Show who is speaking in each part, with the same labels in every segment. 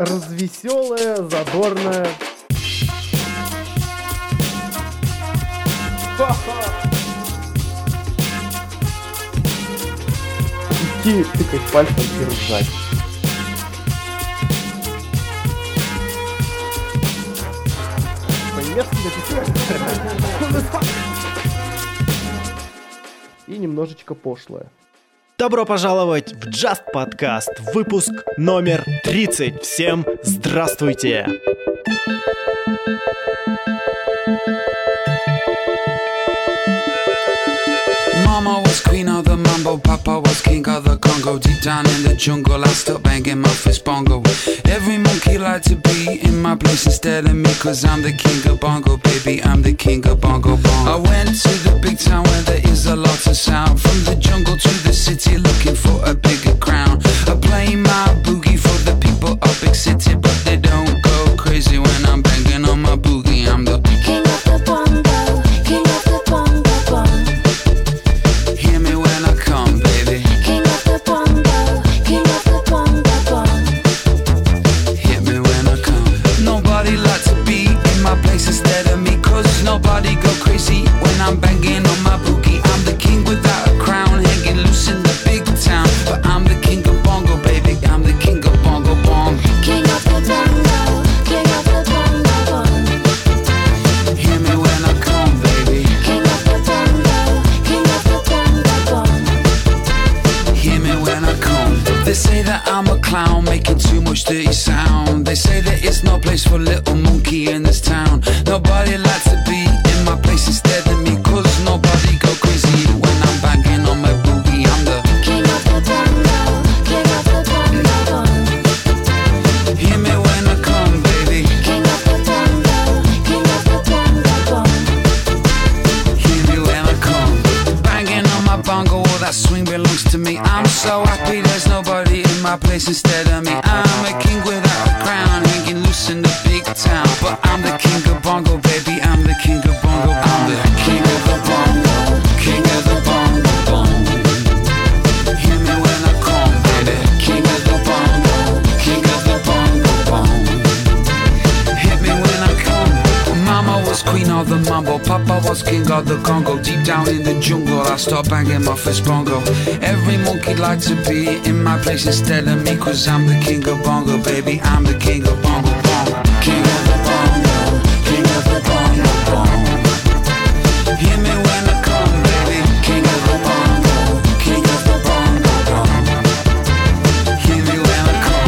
Speaker 1: развеселая, задорная. Идти тыкать пальцем и ржать. И немножечко пошлое.
Speaker 2: Добро пожаловать в Just Podcast, выпуск номер 30. Всем здравствуйте!
Speaker 3: Mama was queen of the mambo, Papa was king of the Congo. Deep down in the jungle, I stopped banging my fist bongo. Every monkey like to be in my place instead of me, cause I'm the king of bongo, baby, I'm the king of bongo bongo. I went to the big town where there is a lot of sound. From the jungle to the city, looking for a bigger crown. I play my boogie for the people of big city, but they don't go crazy when I'm banging on my boogie. I'm the
Speaker 4: king of the bongo, king of the bongo bongo.
Speaker 3: Hear me when I come, baby.
Speaker 4: King of the bongo, king of the bongo bongo.
Speaker 3: Hit me when I come. Nobody like to be in my place instead of me, cause nobody go crazy when I'm banging on my boogie. I'm the king without a crown, hanging loose in the big town, but I'm the king of bongo, baby. I'm the king of bongo bongo.
Speaker 4: King of the bongo, king of the bongo bongo.
Speaker 3: Hear me when I come, baby.
Speaker 4: King of the bongo, king of the bongo bongo.
Speaker 3: Hear me when I come. They say that I'm a clown making too much dirty sound. They say there is no place for little monkey in this town. Nobody likes to be in my place instead of me, cause nobody go crazy when I'm banging on my boogie. I'm the
Speaker 4: king of the bongo, king of the bongo bongo.
Speaker 3: Hear me when I come, baby.
Speaker 4: King of the bongo, king of the bongo bongo.
Speaker 3: Hear me when I come. Banging on my bongo, all that swing belongs to me. I'm so happy there's nobody in my place instead of me. I'm a king without a crown, hanging loose in the big town, but I'm the king of bongo, baby. I'm the king of bongo. I'm the king of the bongo, king of the bongo bongo. Hear me when I come, baby. King of the bongo, king of the bongo bongo. Hit me when I come. Mama was queen of the mambo, Papa was king of the Congo. Deep down in the jungle, I start banging my fist bongo. Every monkey like to be in my place instead of me, cause I'm the king of bongo, baby. I'm the king of bongo bongo. King of the bongo, king of the bongo bongo. Hear me when I come, baby. King of the bongo, king of the bongo bongo. Hear me when I come.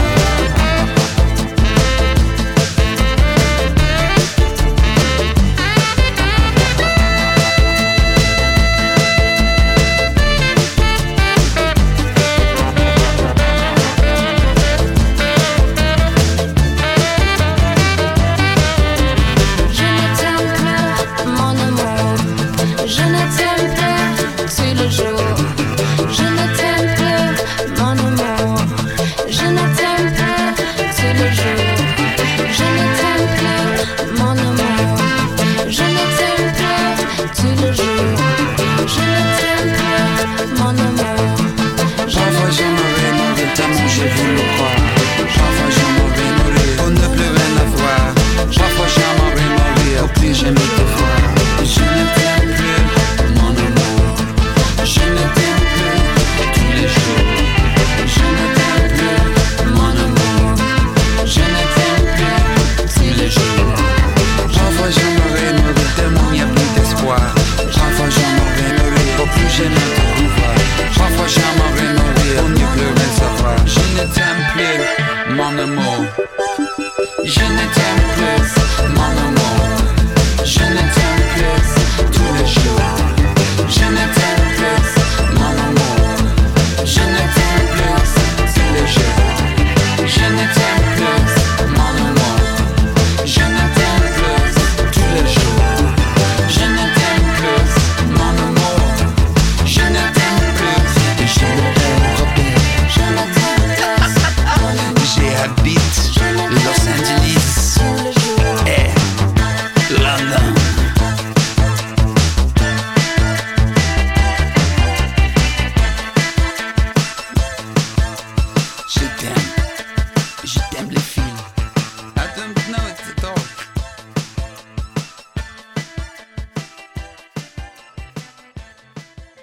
Speaker 4: J'habite Los Angeles.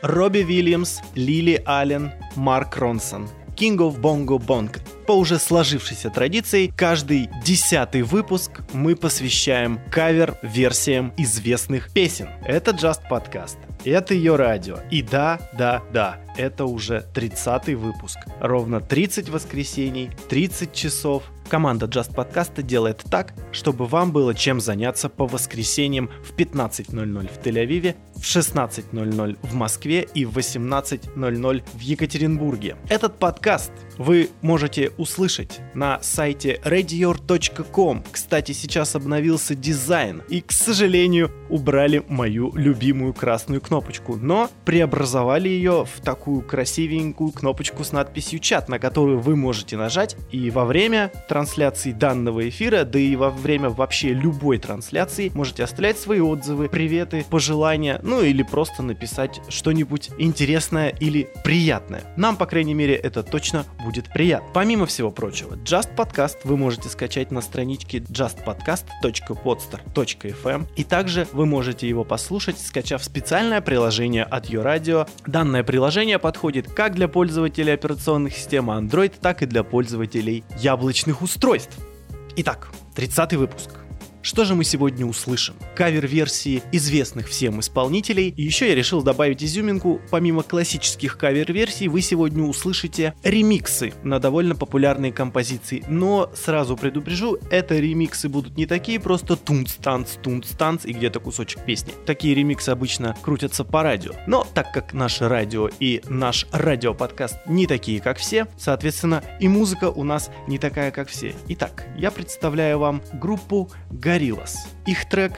Speaker 2: Робби Уильямс, Лили Аллен, Марк Ронсон. King of Bongo Bong. По уже сложившейся традиции, каждый 10-й выпуск мы посвящаем кавер-версиям известных песен. Это Just Podcast. Это ее радио. И да, это уже 30-й выпуск. Ровно 30 воскресений, 30 часов. Команда Just Podcast делает так, чтобы вам было чем заняться по воскресеньям в 15:00 в Тель-Авиве, в 16:00 в Москве и в 18:00 в Екатеринбурге. Этот подкаст вы можете услышать на сайте radior.com. Кстати, сейчас обновился дизайн и, к сожалению, убрали мою любимую красную кнопочку, но преобразовали ее в такую красивенькую кнопочку с надписью «Чат», на которую вы можете нажать и во время трансляции данного эфира, да и во время вообще любой трансляции можете оставлять свои отзывы, приветы, пожелания, ну или просто написать что-нибудь интересное или приятное. Нам, по крайней мере, это точно будет приятно. Помимо всего прочего, Just Podcast вы можете скачать на страничке justpodcast.podster.fm, и также вы можете его послушать, скачав специальное приложение от YouRadio. Данное приложение подходит как для пользователей операционных систем Android, так и для пользователей яблочных устройств. Итак, 30-й выпуск. Что же мы сегодня услышим? Кавер-версии известных всем исполнителей. И еще я решил добавить изюминку. Помимо классических кавер-версий, вы сегодня услышите ремиксы на довольно популярные композиции. Но сразу предупрежу, это ремиксы будут не такие просто тунц-танц и где-то кусочек песни. Такие ремиксы обычно крутятся по радио. Но так как наше радио и наш радиоподкаст не такие, как все, соответственно, и музыка у нас не такая, как все. Итак, я представляю вам группу Gorillaz. Их трек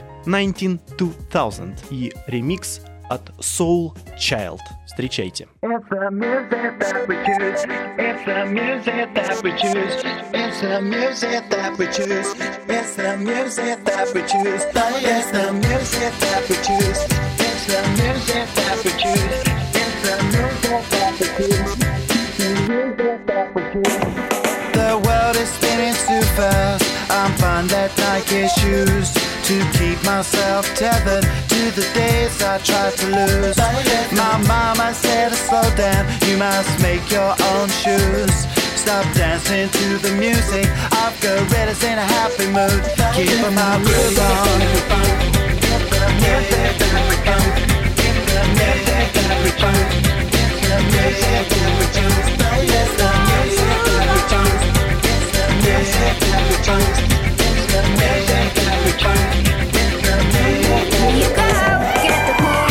Speaker 2: 192000 и ремикс от Soul Child. Встречайте.
Speaker 5: It's the music that we choose. It's the music that we choose. It's the music that we choose. It's the music that we choose. It's the music that we choose. It's the music that we choose. It's the music that we choose. It's the music that we choose.
Speaker 3: The world is spinning too fast. I'm fine that Nike shoes to keep myself tethered to the days I tried to lose. My mama said to slow down, you must make your own shoes. Stop dancing to the music of gorillas in a happy mood. Keep my groove on. It's the music that we choose. It's the music that we choose. It's the music that we choose. It's the music that we choose. It's the music that we choose. It's the music that we choose. It's the music that we choose.
Speaker 4: You go get the cool,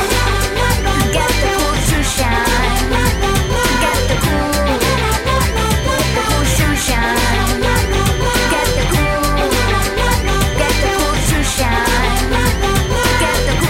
Speaker 4: get the cool to shine, get the cool to shine, get the cool to shine, get the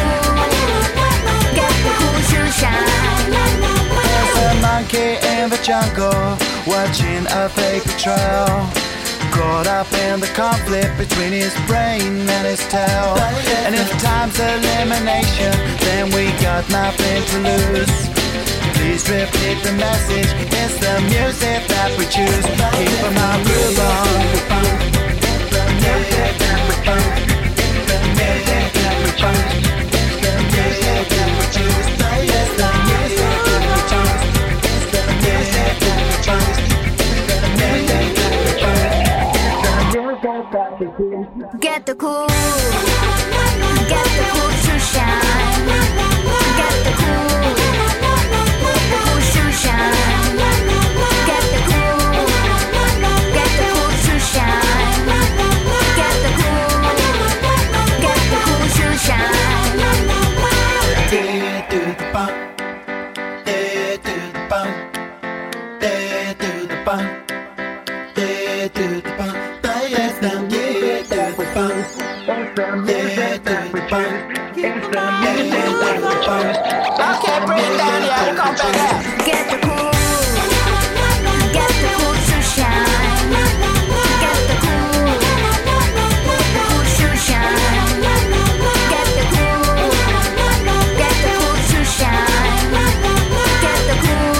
Speaker 4: cool to shine.
Speaker 3: There's a monkey in the jungle watching a fake betrayal. Caught up in the conflict between his brain and his tail. And if time's elimination, then we got nothing to lose. Please repeat the message. It's the music that we choose. Keep my groove on. It's the music that we choose. It's the music that we choose. It's the music that we choose. It's the music that we choose. It's the music that we choose. It's the music that we choose.
Speaker 4: Get the cool to shine, get the cool to shine, get the cool to shine, get the cool to shine.
Speaker 3: Day to the bump, day to the bump, day to the bump, day to the bump. It's the music that we choose. It's the music that we choose. It's the music that we choose. Okay, bring it down here. Come back here.
Speaker 4: Get the cool to shine, get the cool to shine, get the cool to shine, get the cool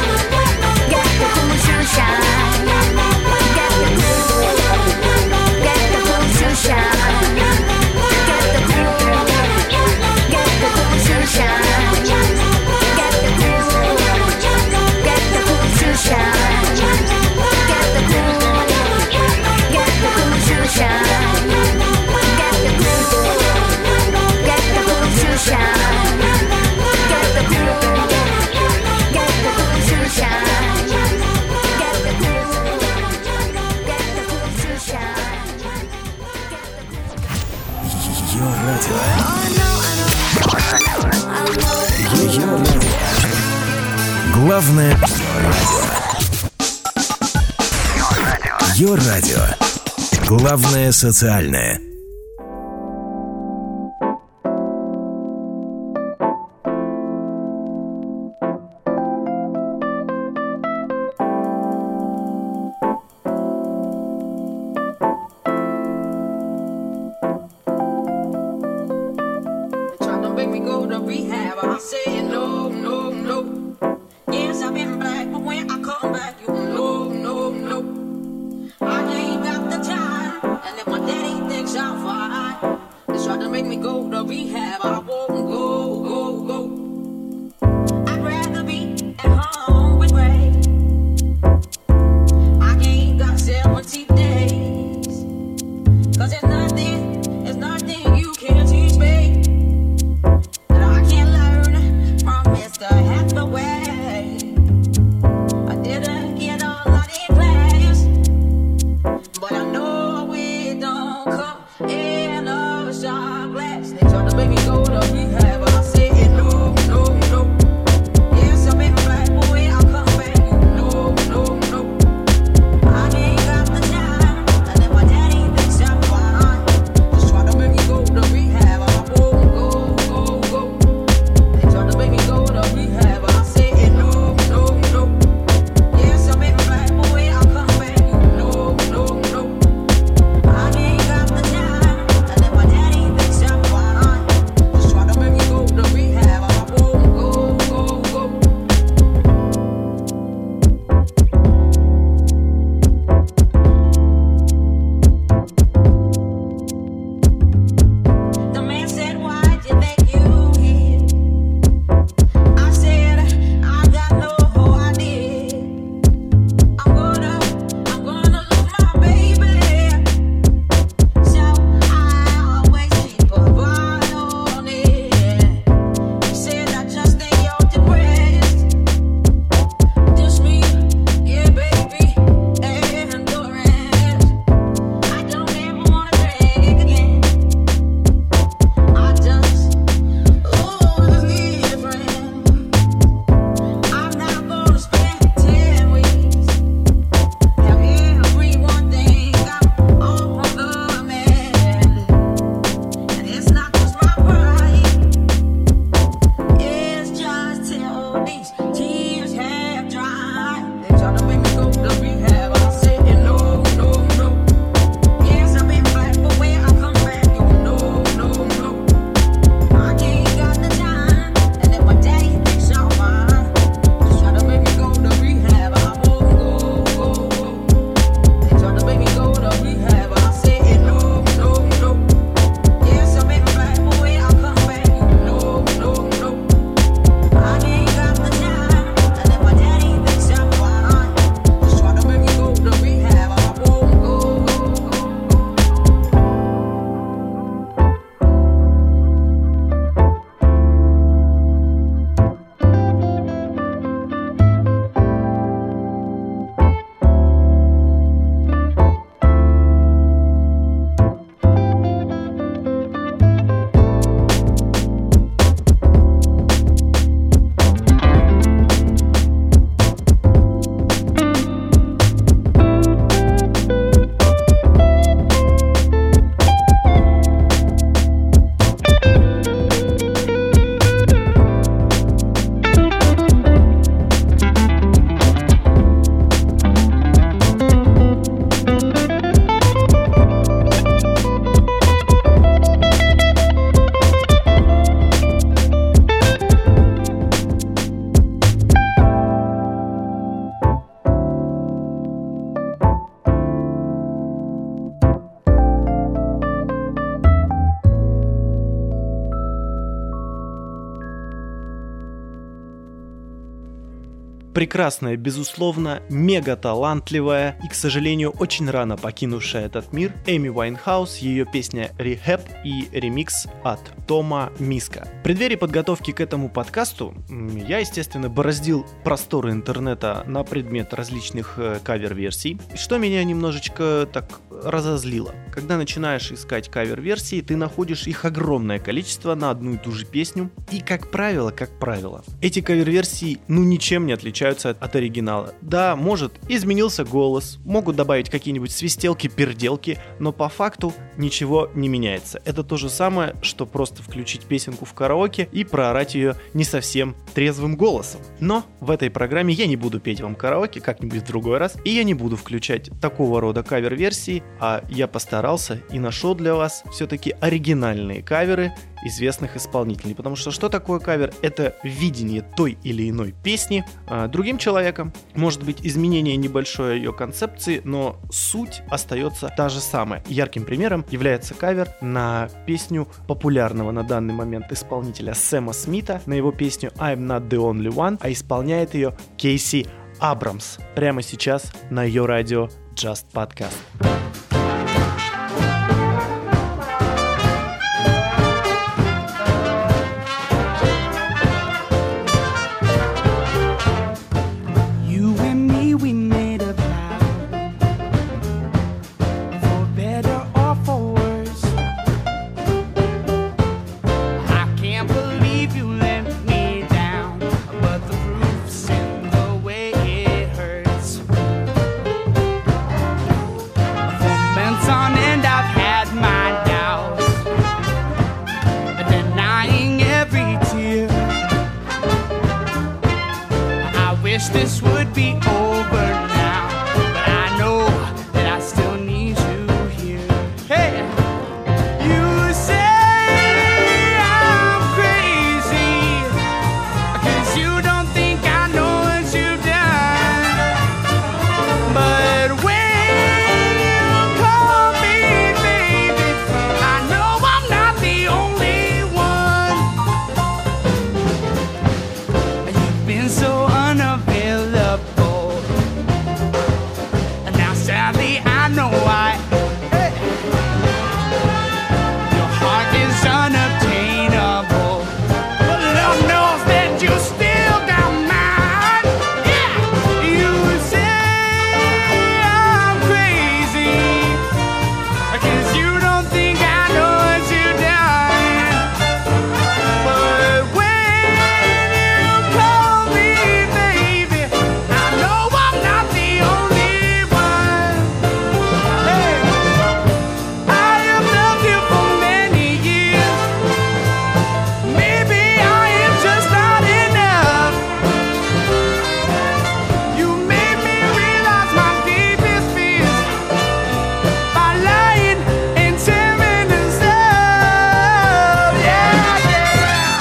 Speaker 4: to shine, get the cool to shine, get the cool to shine, get the cool to shine, get
Speaker 6: радио. Ее радио. Главное радио. Ее радио. Главное социальное.
Speaker 7: Make me go to
Speaker 2: прекрасная, безусловно, мега талантливая и, к сожалению, очень рано покинувшая этот мир Эми Уайнхаус, ее песня «Rehab» и ремикс от Тома Миска. В преддверии подготовки к этому подкасту я, естественно, бороздил просторы интернета на предмет различных кавер-версий, что меня немножечко так разозлило. Когда начинаешь искать кавер-версии, ты находишь их огромное количество на одну и ту же песню, и, как правило, эти кавер-версии, ничем не отличаются от оригинала. Да, может, изменился голос, могут добавить какие-нибудь свистелки, перделки, но по факту ничего не меняется. Это то же самое, что просто включить песенку в караоке и проорать ее не совсем трезвым голосом. Но в этой программе я не буду петь вам караоке как-нибудь в другой раз, и я не буду включать такого рода кавер-версии, а я постарался и нашел для вас все-таки оригинальные каверы известных исполнителей. Потому что такое кавер? Это видение той или иной песни другим человеком. Может быть, изменение небольшое ее концепции, но суть остается та же самая. Ярким примером является кавер на песню популярного на данный момент исполнителя Сэма Смита, на его песню I'm Not The Only One, а исполняет ее Кейси Абрамс. Прямо сейчас на ее радио Just Podcast.
Speaker 3: This would be over now, but I know that I still need you here. Hey, you say I'm crazy, 'cause you don't think I know what you've done. But when you call me baby, I know I'm not the only one. You've been so unavailable. And now sadly I know why. Your heart is unobtainable, but Lord knows that you still got mine. Yeah, you say I'm crazy, 'cause you don't think I know what you've done. But when you call me baby, I know I'm not the only one. Hey, I have loved you for many years. Maybe I am just not enough. You made me realize my deepest fears by lying and tearing us up. Yeah, yeah.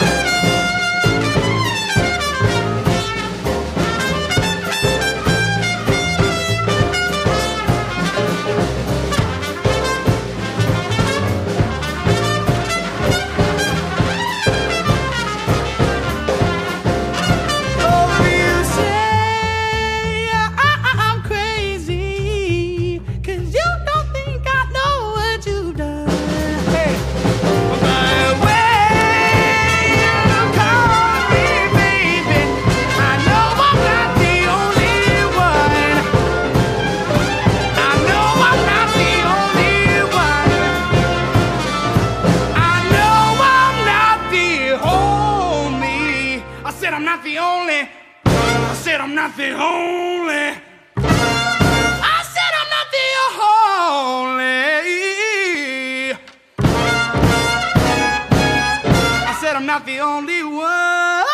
Speaker 3: Oh, you say I'm crazy, 'cause you don't think I know what you've done. Hey, but when you call me baby, I know I'm not the only one. I know I'm not the only one. I know I'm not the only. I said I'm not the only. I said I'm not the only. I said I'm not the only. I said I'm not the only one.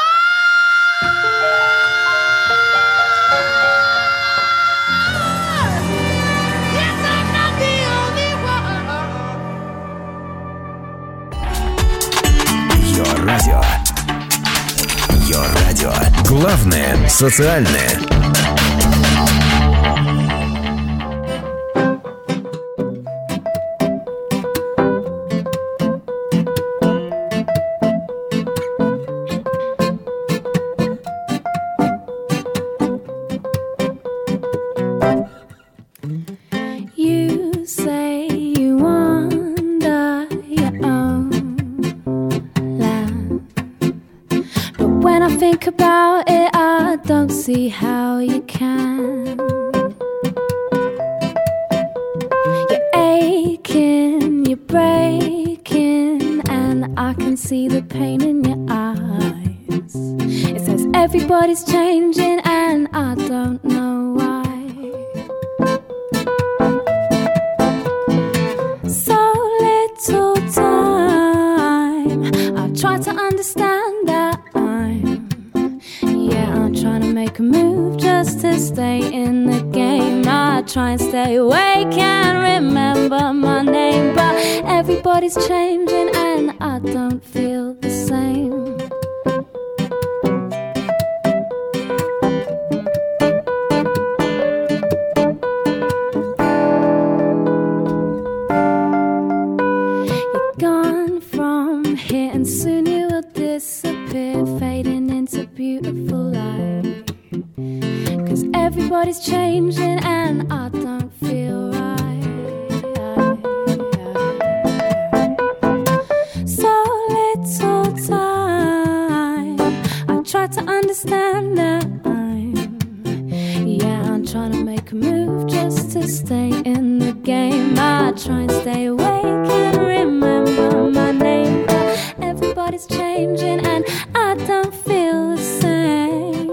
Speaker 3: Yes, I'm not the only one.
Speaker 6: Ее радио. Ее радио. Главное социальное.
Speaker 4: see the pain in your eyes. It says everybody's changing and I don't know why. So little time, I've tried to understand that I'm trying to make a move just to stay in the game. I try and stay awake, can't remember my name, but everybody's changing and I don't feel the same. You're gone from here and soon you will disappear, fading into beautiful light. 'Cause everybody's changing and I don't feel right. So little time, I try to understand that I'm trying to make a move just to stay in the game. I try and stay awake and remember my name, but everybody's changing and I don't feel the same.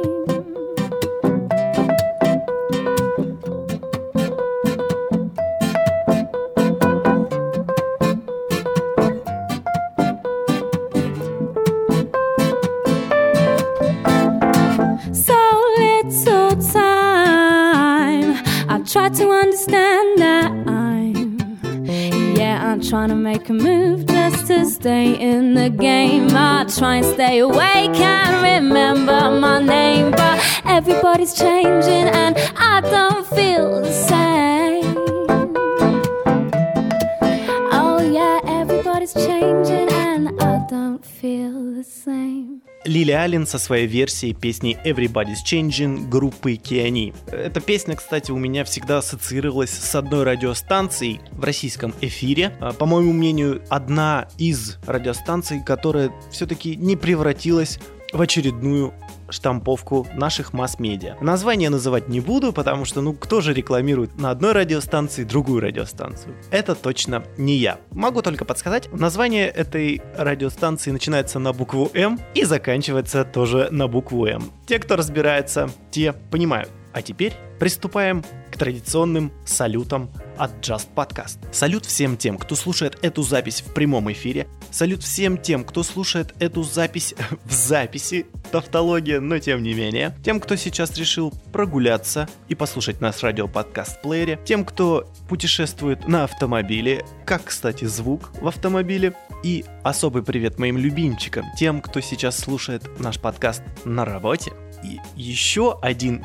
Speaker 4: So little time, I try to understand that I'm trying to make a move just to stay in the game. I try and stay awake, can't remember my name, but everybody's changing and I don't feel the same. Oh yeah, everybody's changing and I don't feel the same.
Speaker 2: Лили Аллен со своей версией песни Everybody's Changing группы Киани. Эта песня, кстати, у меня всегда ассоциировалась с одной радиостанцией в российском эфире. По моему мнению, одна из радиостанций, которая все-таки не превратилась в очередную штамповку наших масс-медиа. Название называть не буду, потому что, кто же рекламирует на одной радиостанции другую радиостанцию? Это точно не я. Могу только подсказать, название этой радиостанции начинается на букву М и заканчивается тоже на букву М. Те, кто разбирается, те понимают. А теперь приступаем к традиционным салютам от Just Podcast. Салют всем тем, кто слушает эту запись в прямом эфире. Салют всем тем, кто слушает эту запись в записи. Тавтология, но тем не менее. Тем, кто сейчас решил прогуляться и послушать наш радиоподкаст в плеере. Тем, кто путешествует на автомобиле. Как, кстати, звук в автомобиле. И особый привет моим любимчикам. Тем, кто сейчас слушает наш подкаст на работе. И еще один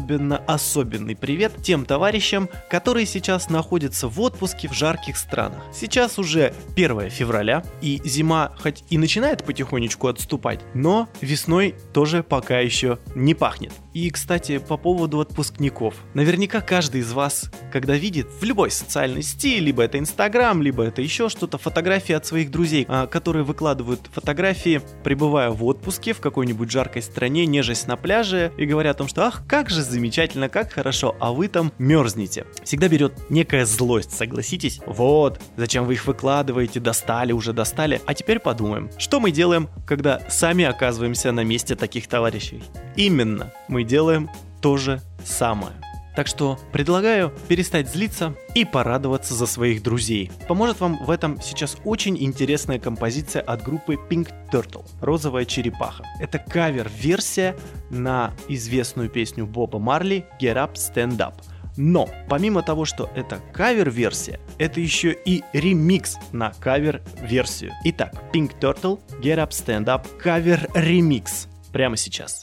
Speaker 2: особенный привет тем товарищам, которые сейчас находятся в отпуске в жарких странах. Сейчас уже 1 февраля, и зима хоть и начинает потихонечку отступать, но весной тоже пока еще не пахнет. И, кстати, по поводу отпускников. Наверняка каждый из вас, когда видит в любой социальной сети, либо это Инстаграм, либо это еще что-то, фотографии от своих друзей, которые выкладывают фотографии, пребывая в отпуске в какой-нибудь жаркой стране, нежесть на пляже, и говорят о том, что ах, как же замечательно, как хорошо, а вы там мерзнете. Всегда берет некая злость, согласитесь? Вот, зачем вы их выкладываете, достали, а теперь подумаем, что мы делаем, когда сами оказываемся на месте таких товарищей. Именно, мы делаем то же самое. Так что предлагаю перестать злиться и порадоваться за своих друзей. Поможет вам в этом сейчас очень интересная композиция от группы Pink Turtle «Розовая черепаха». Это кавер-версия на известную песню Боба Марли «Get Up, Stand Up». Но, помимо того, что это кавер-версия, это еще и ремикс на кавер-версию. Итак, Pink Turtle «Get Up, Stand Up» кавер-ремикс прямо сейчас.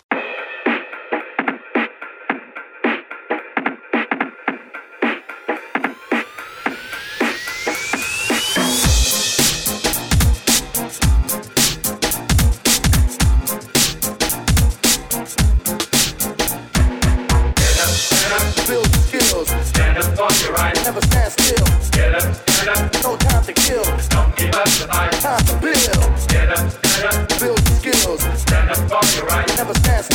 Speaker 7: Never stand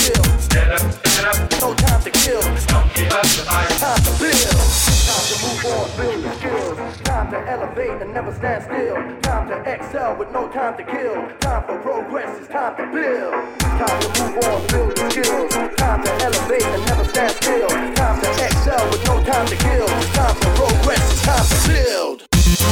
Speaker 7: to elevate and never stand still. Time to excel with no time to kill. Time for progress, it's time to build. Time to move on, build the skills. Time to elevate and never stand still. Time to excel with no time to kill. Time for progress, it's time to build.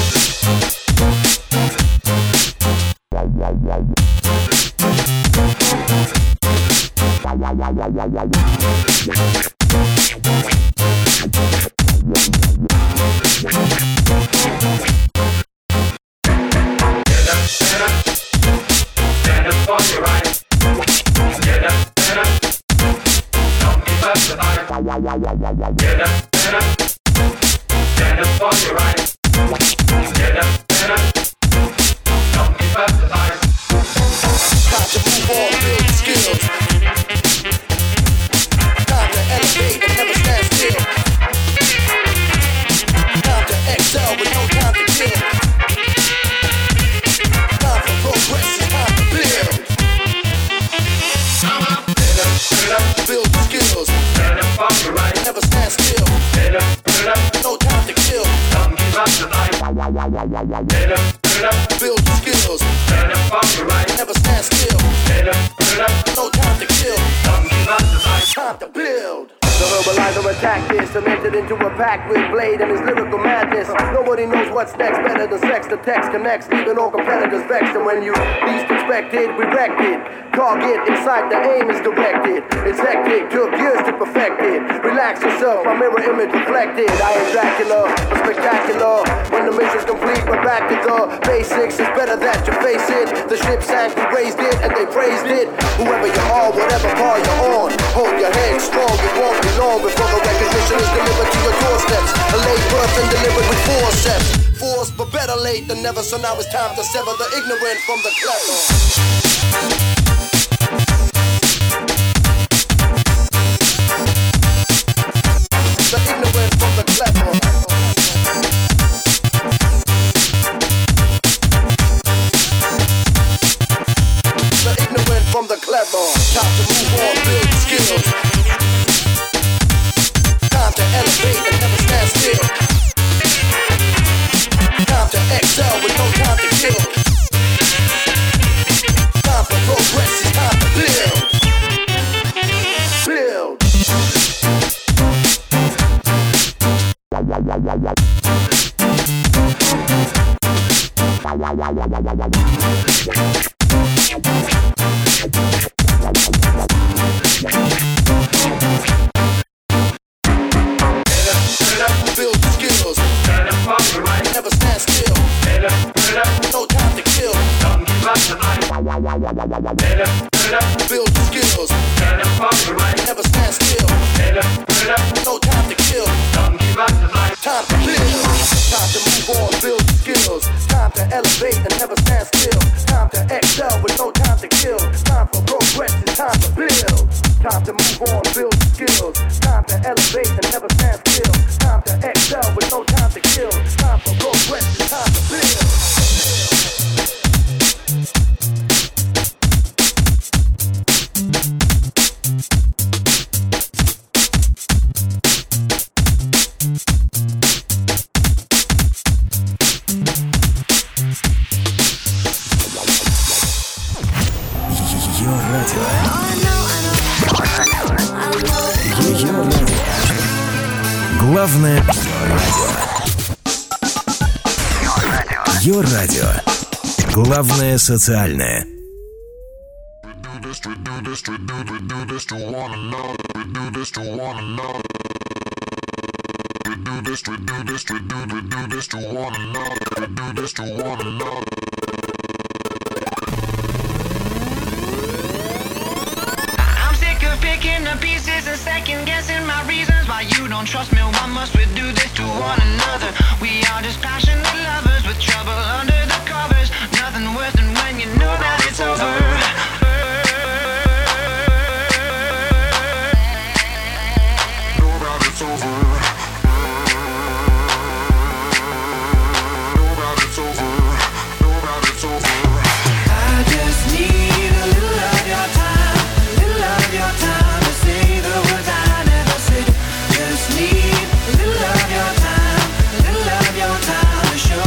Speaker 7: Build the skills. Never stand still. No time to kill. Time to build. The verbalizer attack is cemented into a pact with Blade and his lyrical madness. Nobody knows what's next, better than sex. The text connects, leaving all competitors vexed. And when you least expect it, we wrecked it. Target inside, the aim is directed. It's hectic, took years to perfect it. Relax yourself, my mirror image reflected. I am Dracula, a spectacular. When the mission's complete, we're back to the basics. It's better that you face it. The ship sank, we raised it, and they praised it. Whoever you are, whatever car you're on, hold your head strong, it won't be long before the recognition is delivered to your doorsteps. A late birth and delivered with forceps. Force, but better late than never. So now it's time to sever the ignorant from the clever. The ignorant from the clever. The ignorant from the clever. Time to move on, build skills. Time to elevate and never stand still. Time to excel with no time to kill. Time for progress, it's time to build. Build. Build skills. Never stand still. No time to kill. Build skills. Never stand still. No time to kill. Time to build. Time to move on, build skills. Time to elevate and never stand still. Time to excel with no time to kill. Time for progress, it's time to build. Time to move on, build skills. Time to elevate and never stand still. Time to excel with no time to kill. Time for progress, it's time to build.
Speaker 6: Ее радио. Главное радио. Ее радио. Главное социальное.
Speaker 8: Picking the pieces and second guessing my reasons why you don't trust me. Why must we do this to one another? We are just passionate lovers with trouble under the covers. Nothing worse than when you know that it's over. Know that it's over. Know that it's over. Know that it's over. I just need a little of your time. Your time to say the words I never said. Just need a little of your time, a little of your time to show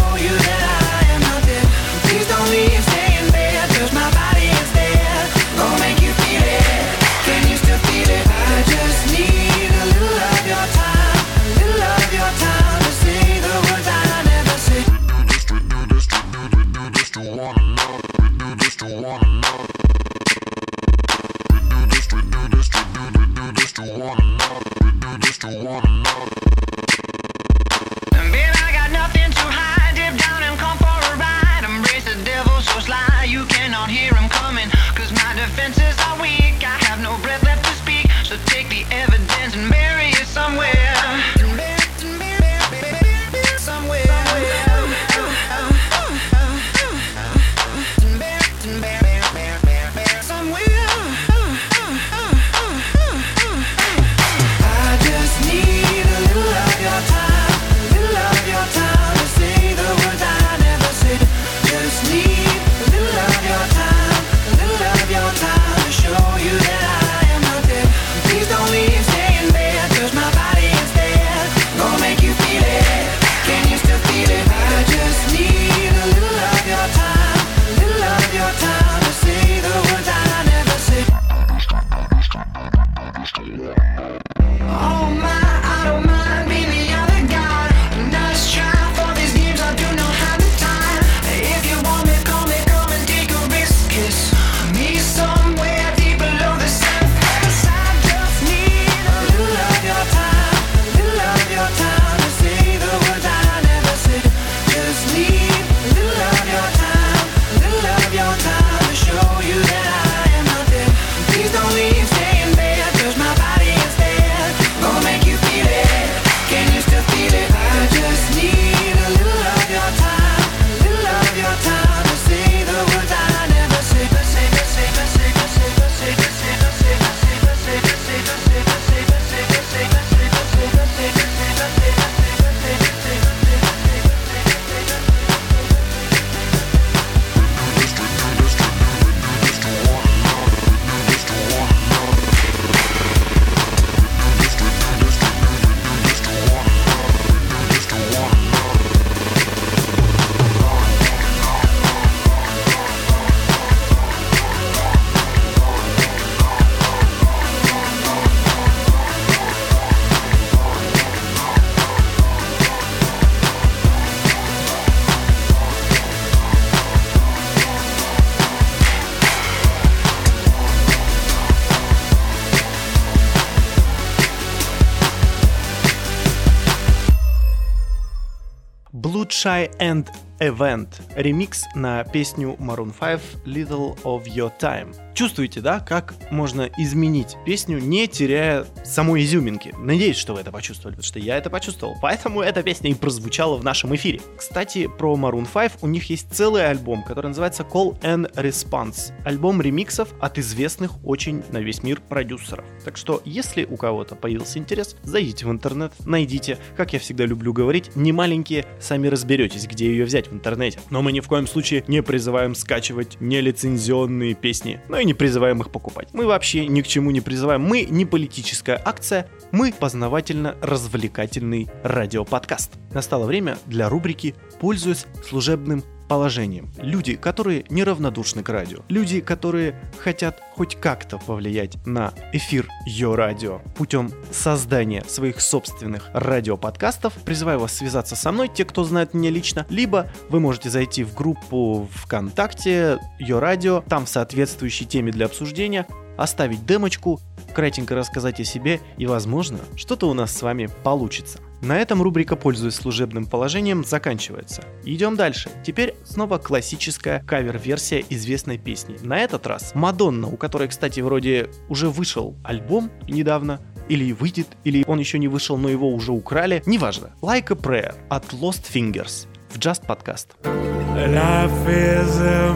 Speaker 2: Shy and Event. Ремикс на песню Maroon 5 Little of Your Time. Чувствуете, да, как можно изменить песню, не теряя самой изюминки? Надеюсь, что вы это почувствовали, потому что я это почувствовал. Поэтому эта песня и прозвучала в нашем эфире. Кстати, про Maroon 5 у них есть целый альбом, который называется Call and Response. Альбом ремиксов от известных очень на весь мир продюсеров. Так что, если у кого-то появился интерес, зайдите в интернет, найдите. Как я всегда люблю говорить, не маленькие, сами разберетесь, где ее взять в интернете. Но мы ни в коем случае не призываем скачивать нелицензионные песни, но и не призываем их покупать. Мы вообще ни к чему не призываем. Мы не политическая акция, мы познавательно-развлекательный радиоподкаст. Настало время для рубрики «Пользуясь служебным положением». Люди, которые неравнодушны к радио. Люди, которые хотят хоть как-то повлиять на эфир Йо Радио путем создания своих собственных радиоподкастов. Призываю вас связаться со мной, те, кто знает меня лично, либо вы можете зайти в группу ВКонтакте Йо Радио, там в соответствующей теме для обсуждения оставить демочку, кратенько рассказать о себе, и, возможно, что-то у нас с вами получится. На этом рубрика «Пользуясь служебным положением» заканчивается. Идем дальше. Теперь снова классическая кавер-версия известной песни. На этот раз Мадонна, у которой, кстати, вроде уже вышел альбом недавно, или выйдет, или он еще не вышел, но его уже украли. Неважно. Like a Prayer от Lost Fingers в Just Podcast.
Speaker 9: Life is a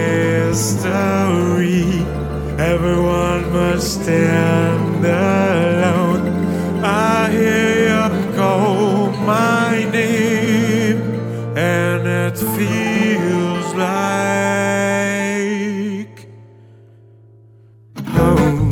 Speaker 9: mystery. Everyone must stand alone. I hear you call my name, and it feels like home.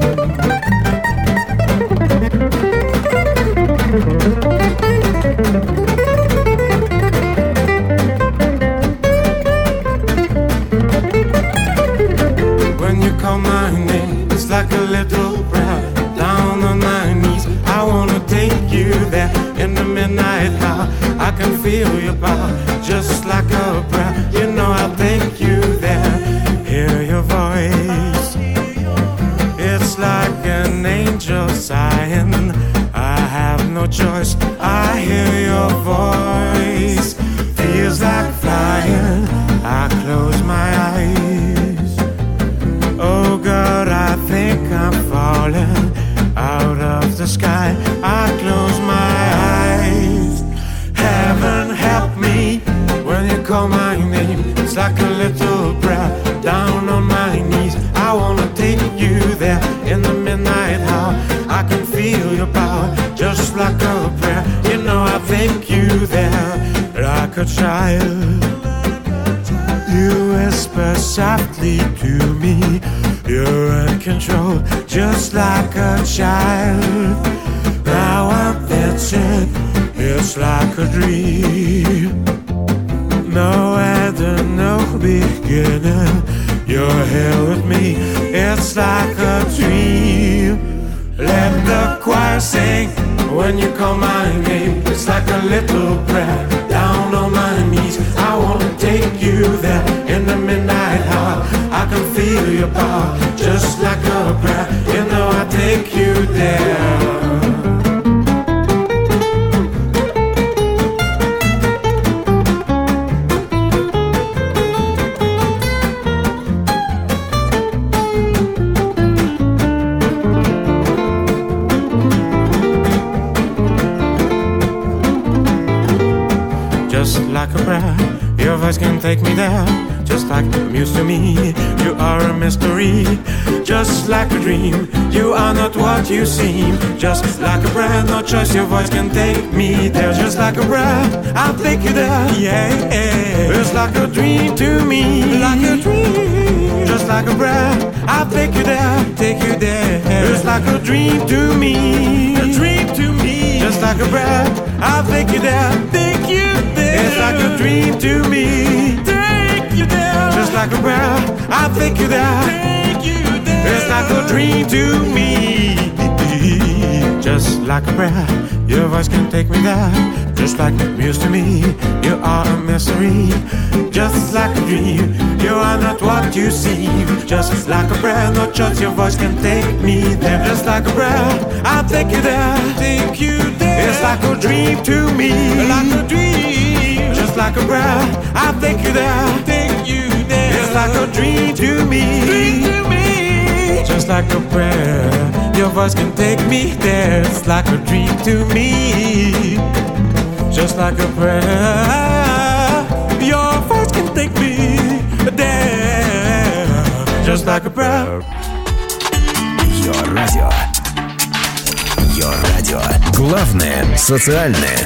Speaker 9: When you call my name, it's like a little breath down on my knees. I wanna take you there in the midnight hour. I can feel your power, just like a prayer. You know I'll take you there. Hear your voice, it's like an angel sighing. I have no choice, I hear your voice. Feels like flying, I close my eyes. Oh God, I think I'm falling out of the sky. I close my eyes. Heaven help me when you call my name. It's like a little prayer down on my knees. I wanna take you there in the midnight hour. I can feel your power just like a prayer. You know I'll take you there like a child. You whisper softly to me. You're in control, just like a child. Now I'm dancing, it's like a dream. No end and no beginning. You're here with me, it's like a dream. Let the choir sing when you call my name. It's like a little prayer down on my knees. I wanna take you there in the midnight hour. I can feel your power, just like a prayer. You know I'll take you there. Just like a prayer, your voice can take me there. Just like a muse to me, you are a mystery. Just like a dream, you are not what you seem. Just like a prayer, no choice, your voice can take me there. Just like a prayer, I'll take you there, yeah. It's like a dream to me, like a dream. Just like a prayer, I'll take you there, take you there. It's like a dream to me, a dream to me. Just like a prayer, I'll take you there, take you there. It's like a dream to me, take you there. Just like a prayer, I'll take you there, take you there. It's like a dream to me. Just like a prayer, your voice can take me there. Just like a muse to me, you are a mystery. Just like a dream, you are not what you seem. Just like a prayer, no choice, your voice can take me there. Just like a prayer, I'll take you there, take you there. It's like a dream to me, like a dream. just like a prayer. I think you there, it's like a dream to me, just like a prayer. Your voice can take me there, it's like a dream to me, just like a prayer. Your voice can take me there, just like a prayer.
Speaker 6: Your Radio. Your Radio. Главное социальное.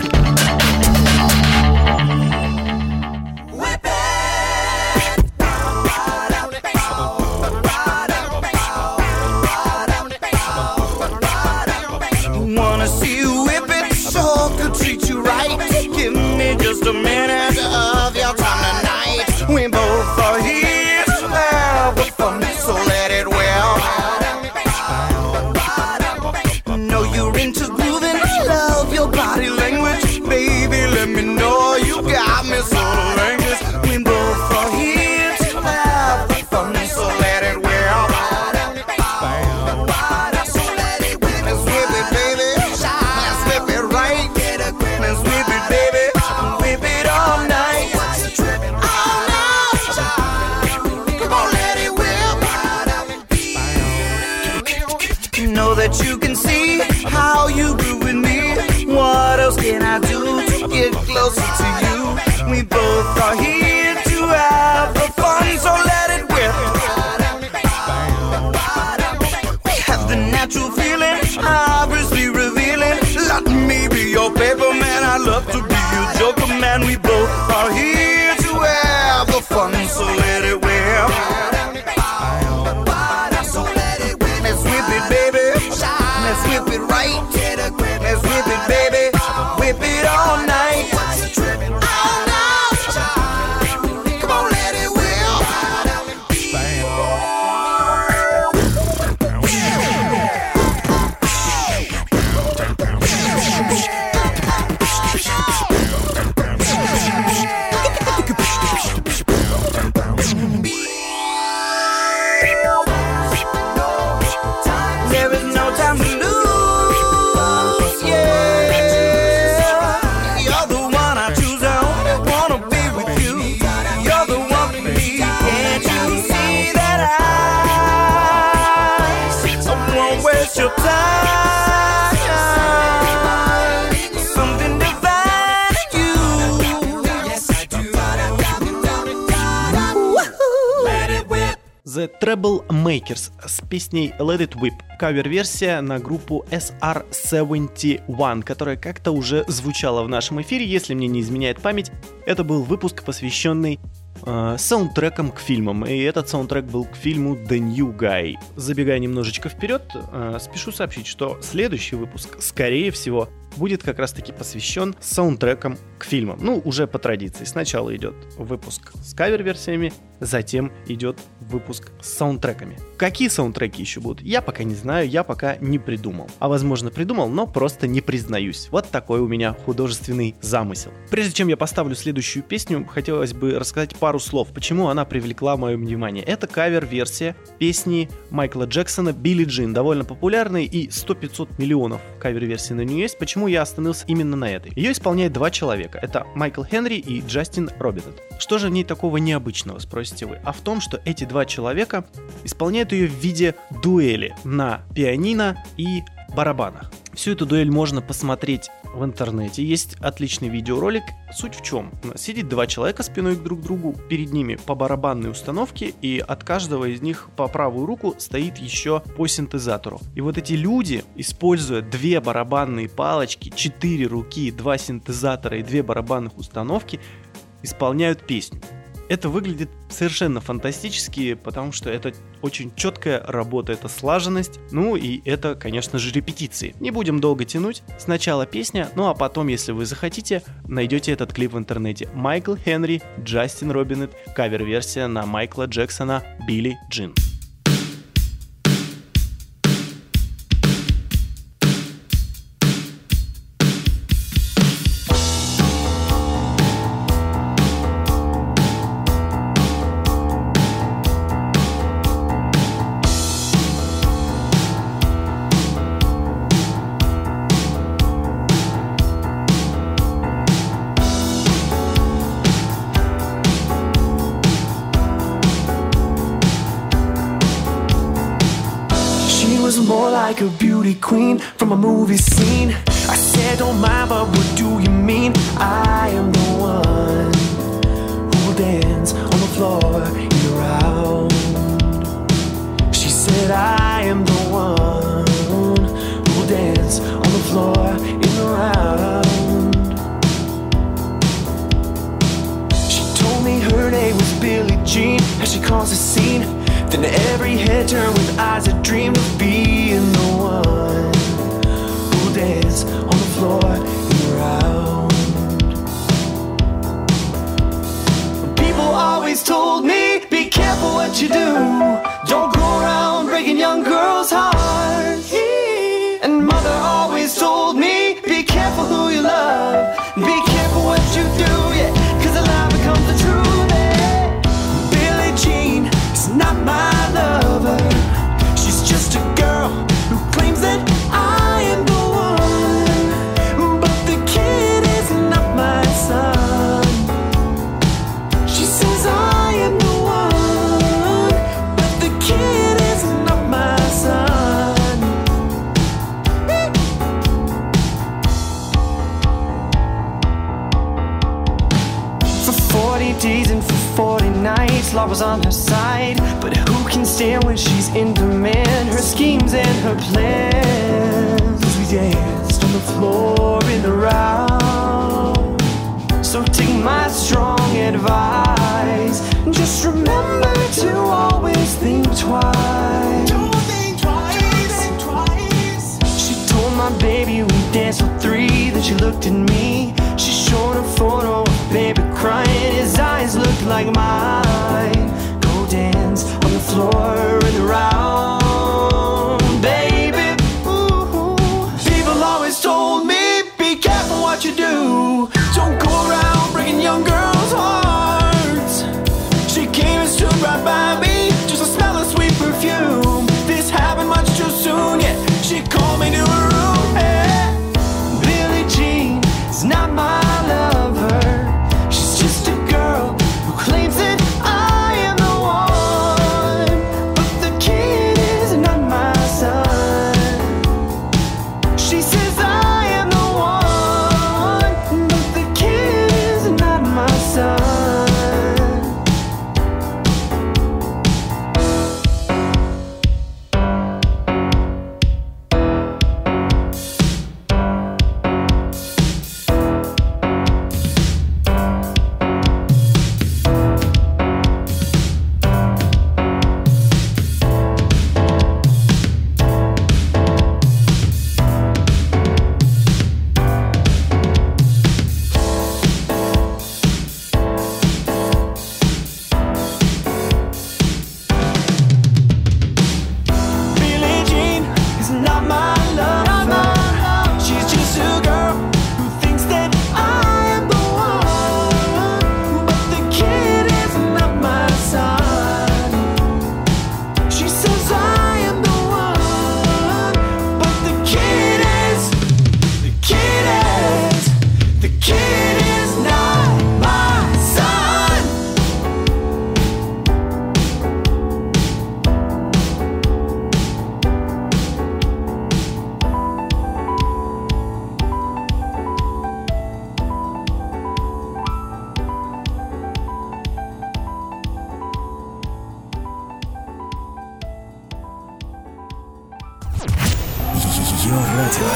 Speaker 7: Wanna see you whip it, so could treat you right. Give me just a minute of your time tonight. We both are here to have the fun, so let it well. Know you're into grooving, love your body language. Baby, let me know you got me so language. We both are here to have the fun, so let it well. Let's whip it, baby. Let's whip it right. Let's whip it, baby. Whip it all night. All night. Come on, let it whip. Know that you can see how you grew with me. What else can I do to get closer to you? We both are here to have the fun, so let it whip. Have the natural feeling, obviously revealing. Let me be your paper man, I love to be your joker man. We both are here to have the fun, so let it whip. Let's whip it, baby. Let's whip it right. Let's whip it, baby. Whip it all night. All night. Come on, let it whip. There is no time to lose, yeah. You're the one I choose, I only wanna be with you. You're the one for me, can't you see that I won't waste your time. Something divine in you. Yes, I do. Let it whip.
Speaker 2: The Troublemakers с песней Let It Whip. Кавер-версия на группу SR-71, которая как-то уже звучала в нашем эфире, если мне не изменяет память. Это был выпуск, посвященный саундтрекам к фильмам, и этот саундтрек был к фильму The New Guy. Забегая немножечко вперед, спешу сообщить, что следующий выпуск, скорее всего, будет как раз-таки посвящен саундтрекам к фильмам. Ну, уже по традиции. Сначала идет выпуск с кавер-версиями, затем идет выпуск с саундтреками. Какие саундтреки еще будут, я пока не знаю, я пока не придумал. А возможно придумал, но просто не признаюсь. Вот такой у меня художественный замысел. Прежде чем я поставлю следующую песню, хотелось бы рассказать пару слов, почему она привлекла мое внимание. Это кавер-версия песни Майкла Джексона «Билли Джин», довольно популярной, и 100-500 миллионов кавер-версий на нее есть. Почему я остановился именно на этой? Ее исполняет два человека. Это Майкл Хенри и Джастин Робинет. Что же в ней такого необычного, спросите вы? А в том, что эти два человека исполняют ее в виде дуэли на пианино и барабанах. Всю эту дуэль можно посмотреть в интернете. Есть отличный видеоролик. Суть в чем? Сидит два человека спиной друг к другу, перед ними по барабанной установке, и от каждого из них по правую руку стоит еще по синтезатору. И вот эти люди, используя две барабанные палочки, 4 руки, 2 синтезатора и 2 барабанных установки, исполняют песню. Это выглядит совершенно фантастически, потому что это очень четкая работа, это слаженность, ну и это, конечно же, репетиции. Не будем долго тянуть, сначала песня, ну а потом, если вы захотите, найдете этот клип в интернете. Майкл Хенри, Джастин Робинет, кавер-версия на Майкла Джексона «Билли Джин».
Speaker 5: was more like a beauty queen from a movie scene. I said, don't mind, but what do you mean? I am the one who will dance on the floor year round. She said, I am the one who will dance on the floor year round. She told me her name was Billie Jean as she caused a scene. Then every head turned with eyes that dreamed of being the one who'll dance on the floor year round. People always told me, be careful what you do. Don't go around breaking young girls' hearts. And mother always told me, be careful who you love. Be careful what you do, yeah, 'cause the lie becomes the truth, yeah. Billie Jean is not my lover. She's just a girl who claims that I am the one. But the kid is not my son. She says I am the one, but the kid is not my son. For 40 days and for 40 nights, love was on her side. But who can stand when she's in demand? Her schemes and her plans. As we danced on the floor in the round. So take my strong advice. Just remember to always think twice. Don't think twice. She told my baby we danced till 3. Then she looked at me. She showed a photo of baby crying. His eyes looked like mine. Go dance on the floor in the round, baby. Ooh. People always told me, be careful what you do. Don't go around breaking young girls' hearts. She came and stood right by me, just to smell of sweet perfume. This happened much too soon, yeah. She called me to her room, yeah. Billie Jean is not my lover. She's just a girl who claims that I am the one. But the kid is not my son. She says I am the one, but the kid is not my son. Billie Jean is not my lover. She's just a girl who thinks that I am the one. But the kid is not my son. She says I am the one. But the kid is not my son.
Speaker 6: Ее радио.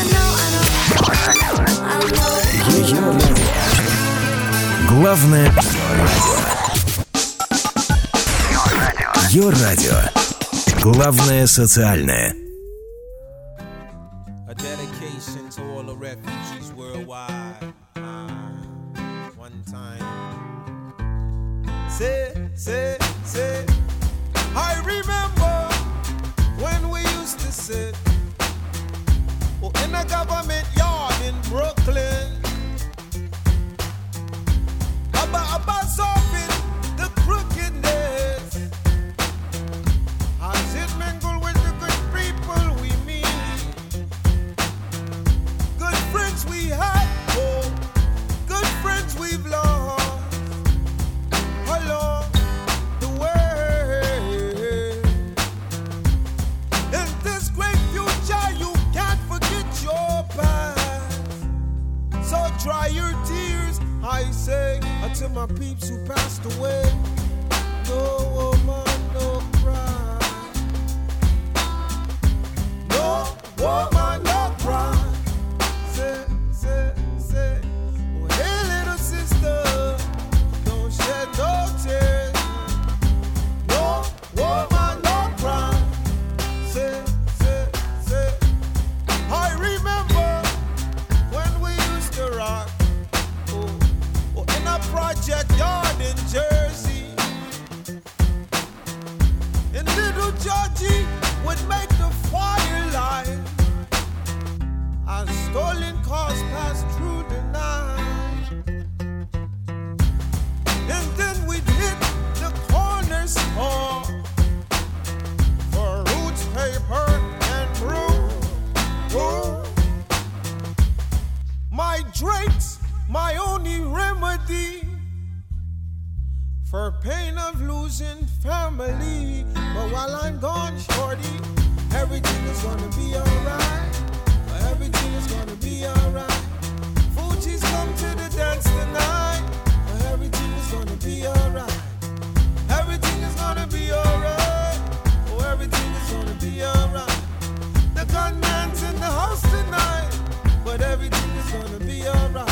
Speaker 6: Ее радио. Главное Ее радио. Главное социальное.
Speaker 10: A dedication to all the refugees worldwide. One time. Say. I remember when we used to sit in a government yard in Brooklyn. About solving the crookedness. As it mingle with the good people we meet. Good friends we had, oh, good friends we've lost along the way. In this peeps who passed away. No woman, no cry. No woman, no cry. Say, oh hey little sister, don't shed no tears. No woman, no cry. Say, I remember when we used to rock, in a project yard in Jersey. And little Georgie would make the fire light as stolen cars passed through the night. And then we'd hit the corner store for roots, paper, and brew. Oh, my drinks, my only remedy for pain of losing family. But while I'm gone, shorty, everything is gonna be alright. Everything is gonna be alright. Fuji's come to the dance tonight. Everything is gonna be alright. Everything is gonna be alright. Oh, everything is gonna be alright. The gunman's in the house tonight, but everything is gonna be alright.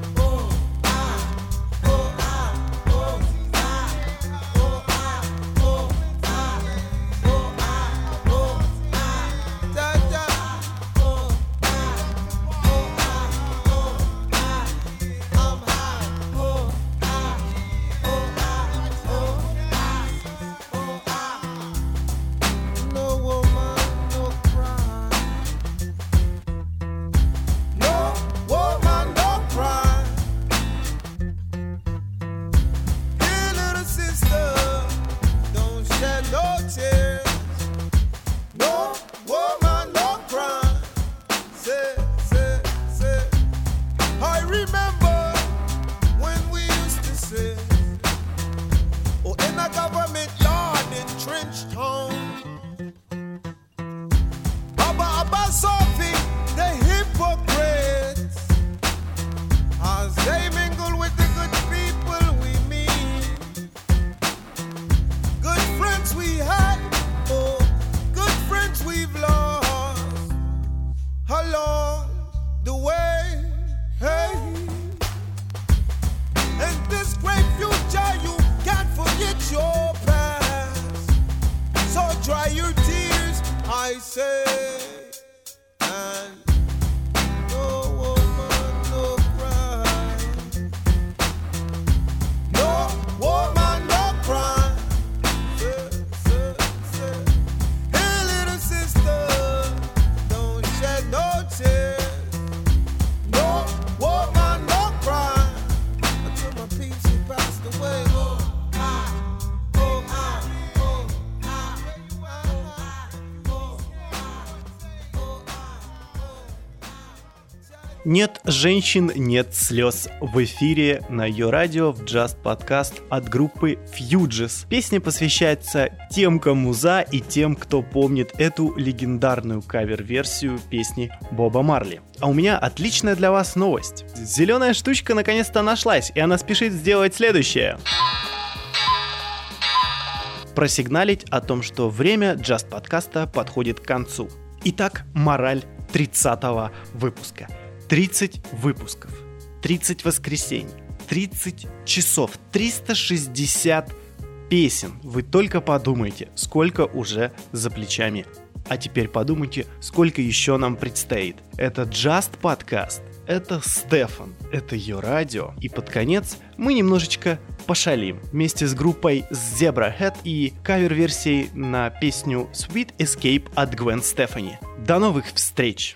Speaker 2: Нет женщин, нет слез. В эфире на ее радио в Just подкаст от группы Fugees. Песня посвящается тем, кому за, и тем, кто помнит эту легендарную кавер-версию песни Боба Марли. А у меня отличная для вас новость. Зеленая штучка наконец-то нашлась, и она спешит сделать следующее. Просигналить о том, что время Just подкаста подходит к концу. Итак, мораль 30-го выпуска. 30 выпусков, 30 воскресений, 30 часов, 360 песен. Вы только подумайте, сколько уже за плечами. А теперь подумайте, сколько еще нам предстоит. Это Just подкаст, это Стефан, это ее радио. И под конец мы немножечко пошалим вместе с группой Zebrahead и кавер-версией на песню Sweet Escape от Gwen Stefani. До новых встреч!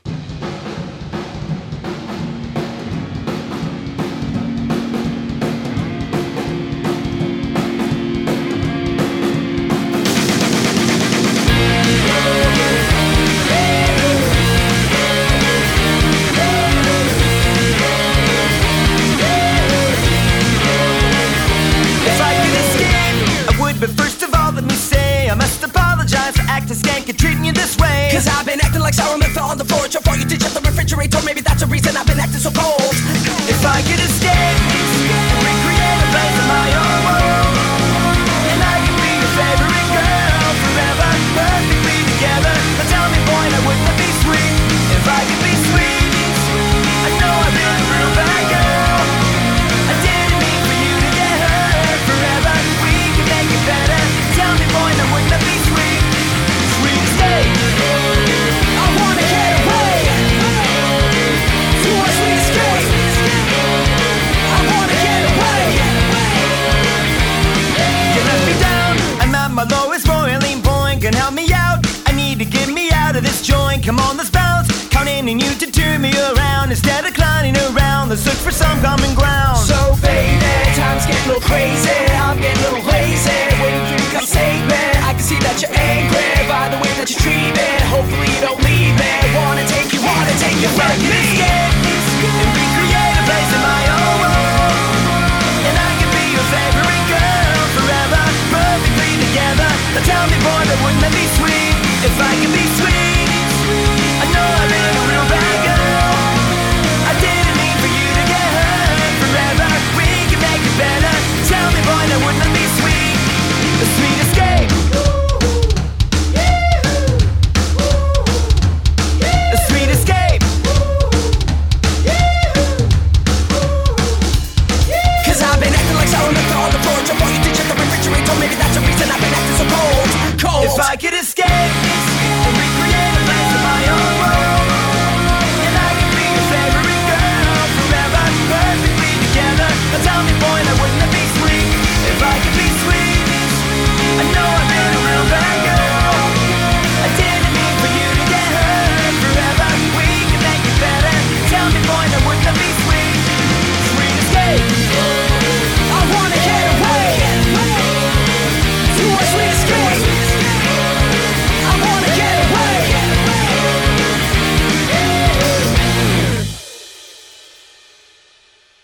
Speaker 11: Treating you this way, 'cause I've been acting like sour milk fell on the floor. For you to check the refrigerator, maybe that's the reason I've been acting so cold. If I could escape and recreate a place of my own, needing you to turn me around. Instead of clowning around, let's look for some common ground. So baby, time's getting a little crazy, I'm getting a little lazy, waiting for you to come save me. I can see that you're angry by the way that you treat me. Hopefully you don't leave me. Wanna take you from me and recreate a place in my own world. And I can be your favorite girl forever, perfectly together. Now tell me boy, that wouldn't that be sweet? If I could be sweet, I know I made a real bad girl. I didn't mean for you to get hurt forever. We can make it better. Tell me boy, that wouldn't that be sweet? A sweet escape. A sweet escape. 'Cause I've been acting like sour milk on the porch. I want you to check the refrigerator. Maybe that's the reason I've been acting so cold. If I could escape and recreate a place of my own world, and I could be your favorite girl forever, perfectly together. Now tell me boy, that wouldn't have